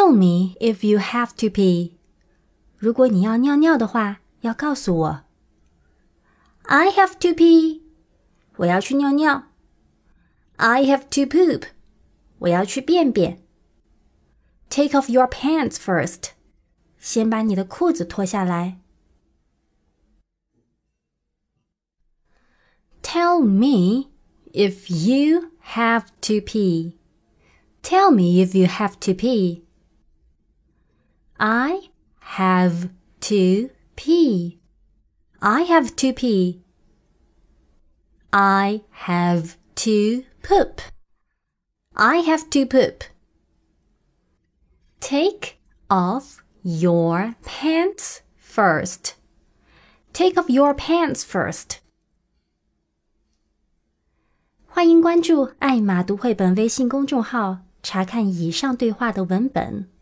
Tell me if you have to pee. 如果你要尿尿的话，要告诉我。I have to pee. 我要去尿尿。I have to poop. 我要去便便。Take off your pants first. 先把你的裤子脱下来。Tell me if you have to pee. Tell me if you have to pee. I have to pee. I have to pee. I have to poop. I have to poop. Take off your pants first. Take off your pants first. 欢迎关注艾玛读绘本微信公众号，查看以上对话的文本。